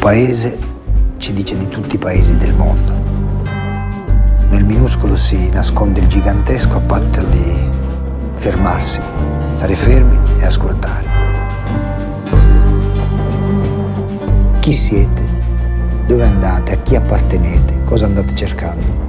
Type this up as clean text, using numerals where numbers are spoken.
paese ci dice di tutti i paesi del mondo. Nel minuscolo si nasconde il gigantesco a patto di fermarsi, stare fermi e ascoltare. Chi siete? Dove andate? A chi appartenete? Cosa andate cercando?